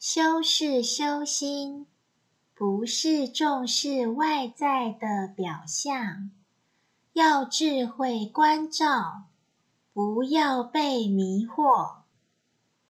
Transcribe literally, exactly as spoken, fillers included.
修饰修心，不是重视外在的表象，要智慧关照，不要被迷惑。